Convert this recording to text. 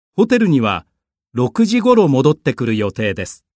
ホテルには6時ごろ戻ってくる予定です。